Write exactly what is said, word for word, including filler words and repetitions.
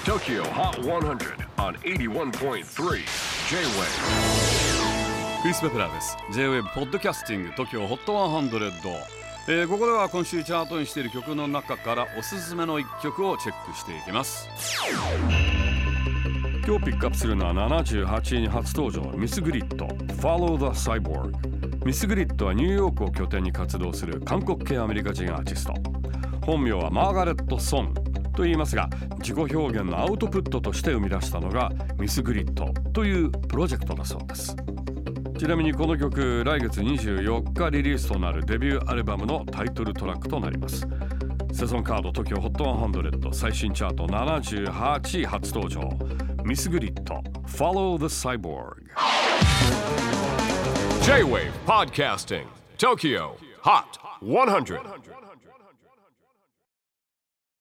Tokyo Hot one hundred on エイティワンポイントスリー J-Wave。 クリス・ベプラーです。 J-Wave ポッドキャスティング TOKYO ホットひゃく、えー、ここでは今週チャートにしている曲の中からおすすめのいっきょくをチェックしていきます。今日ピックアップするのはななじゅうはちいに初登場、ミスグリッド Follow the Cyborg。 ミスグリッドはニューヨークを拠点に活動する韓国系アメリカ人アーティスト。本名はマーガレット・ソンと言いますが、自己表現のアウトプットとして生み出したのがミスグリッドというプロジェクトだそうです。ちなみにこの曲、来月にじゅうよっかリリースとなるデビューアルバムのタイトルトラックとなります。セゾンカード TOKYO ホットひゃく最新チャートななじゅうはちい初登場、ミスグリッド Follow the Cyborg。 J-Wave Podcasting TOKYO Hot ひゃく。